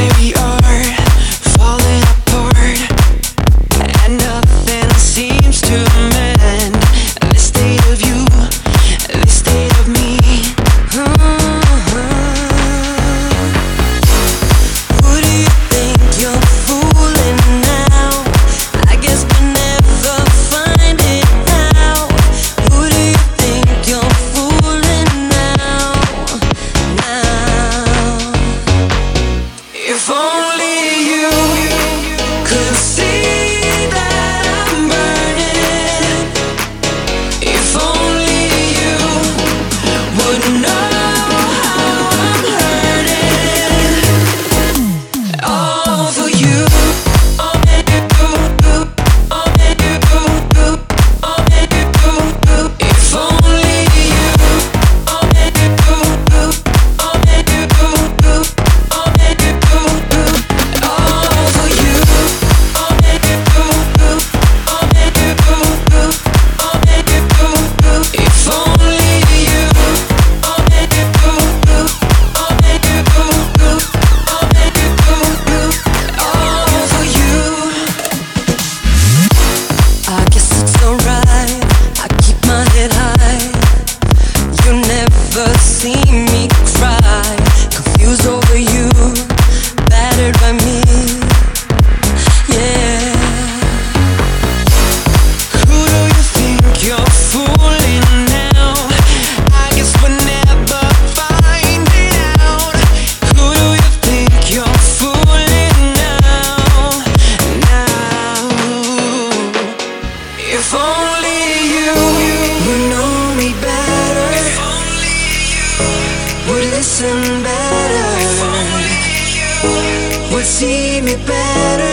way we are, falling apart, and nothing seems to mend. This state of you, this state of me. Who do you think you're fooling now? I guess we'll never find it out. Who do you think you're fooling now? If only you could see that I'm burning. If only you would know how I'm hurting. All for you. If only you. All for you. If only you. All for you. I guess it's alright. I keep my head high. You never see me cry. Confused over you, battered by me. Yeah. Who do you think you're fooling now? I guess we'll never find it out. Who do you think you're fooling now? If only you would know me better. If only you would listen better. Would see me better.